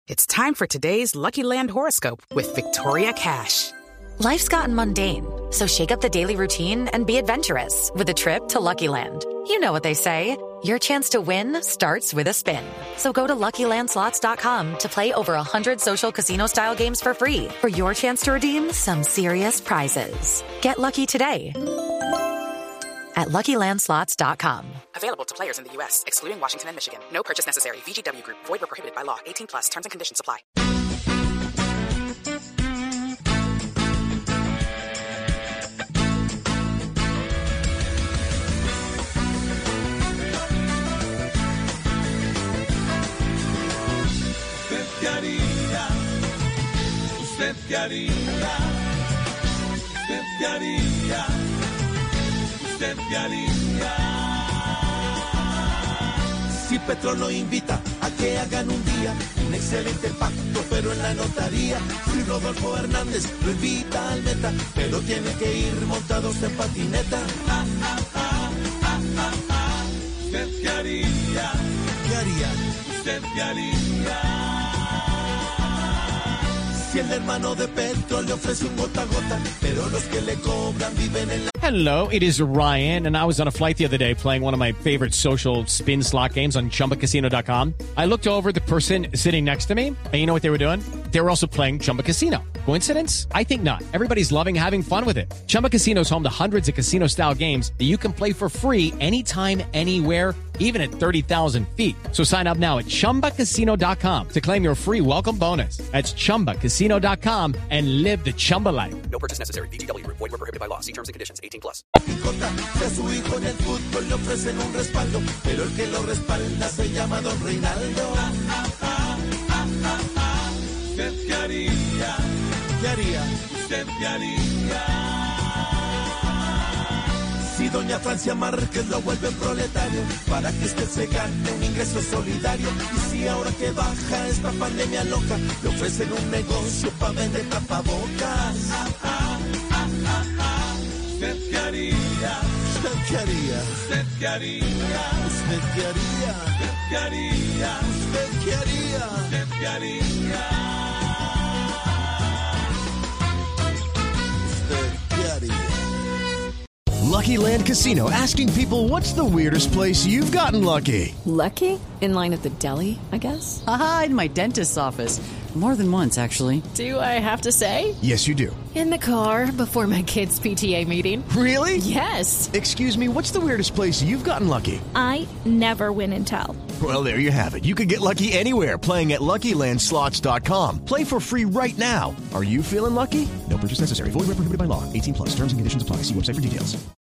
It's time for today's Lucky Land horoscope with Victoria Cash. Life's gotten mundane, so shake up the daily routine and be adventurous with a trip to Lucky Land. You know what they say, your chance to win starts with a spin. So go to LuckyLandSlots.com to play over 100 social casino-style games for free for your chance to redeem some serious prizes. Get lucky today at LuckyLandSlots.com. Available to players in the U.S., excluding Washington and Michigan. No purchase necessary. VGW Group. Void or prohibited by law. 18+. Terms and conditions apply. ¿Usted qué haría? ¿Usted qué haría? ¿Usted qué haría? Si Petro lo invita a que hagan un día un excelente pacto, pero en la notaría. Si Rodolfo Hernández lo invita al meta, pero tiene que ir montados en patineta. ¿Usted qué haría? ¿Qué haría? ¿Usted qué haría? Si el hermano de Petro le ofrece un gota a gota, pero los que le cobran viven en la... Hello, it is Ryan, and I was on a flight the other day playing one of my favorite social spin slot games on ChumbaCasino.com. I looked over at the person sitting next to me, and you know what they were doing? They were also playing Chumba Casino. Coincidence? I think not. Everybody's loving having fun with it. Chumba Casino is home to hundreds of casino-style games that you can play for free anytime, anywhere, even at 30,000 feet. So sign up now at ChumbaCasino.com to claim your free welcome bonus. That's ChumbaCasino.com and live the Chumba life. No purchase necessary. VGW Group. Void where prohibited by law. See terms and conditions. 18+. Si a su hijo en el fútbol le ofrecen un respaldo, pero el que lo respalda se llama Don Reinaldo. ¿Usted qué haría? ¿Qué haría? ¿Usted qué haría? Si doña Francia Márquez lo vuelve proletario, para que usted se gane un ingreso solidario. Y si ahora que baja esta pandemia loca, le ofrecen un negocio para vender tapabocas. ¿Usted qué haría? ¿Usted qué haría? ¿Usted qué haría? ¿Usted qué haría? ¿Usted qué haría? ¿Usted qué haría? ¿Usted qué haría? ¿Usted qué haría? Lucky Land Casino, asking people, what's the weirdest place you've gotten lucky? Lucky? In line at the deli, I guess? Aha, in my dentist's office. More than once, actually. Do I have to say? Yes, you do. In the car before my kids' PTA meeting. Really? Yes. Excuse me, what's the weirdest place you've gotten lucky? I never win and tell. Well, there you have it. You can get lucky anywhere, playing at LuckyLandSlots.com. Play for free right now. Are you feeling lucky? No purchase necessary. Void where prohibited by law. 18+. Terms and conditions apply. See website for details.